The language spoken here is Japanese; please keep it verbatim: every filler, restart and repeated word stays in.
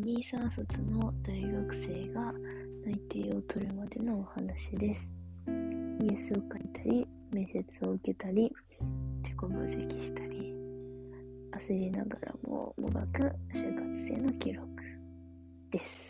にさん卒の大学生が内定を取るまでのお話です。イエスを書いたり、面接を受けたり、自己分析したり、焦りながらももがく就活生の記録です。